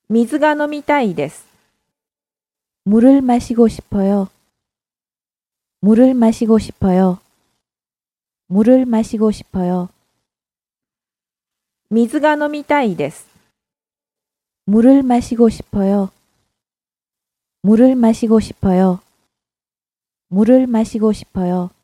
水が飲みたいです。 물을 마시고 싶어요. 물을 마시고 싶어요. 물을 마시고 싶어요. 水が飲みたいです。 물을 마시고 싶어요. 물을 마시고 싶어요. 물을 마시고 싶어요.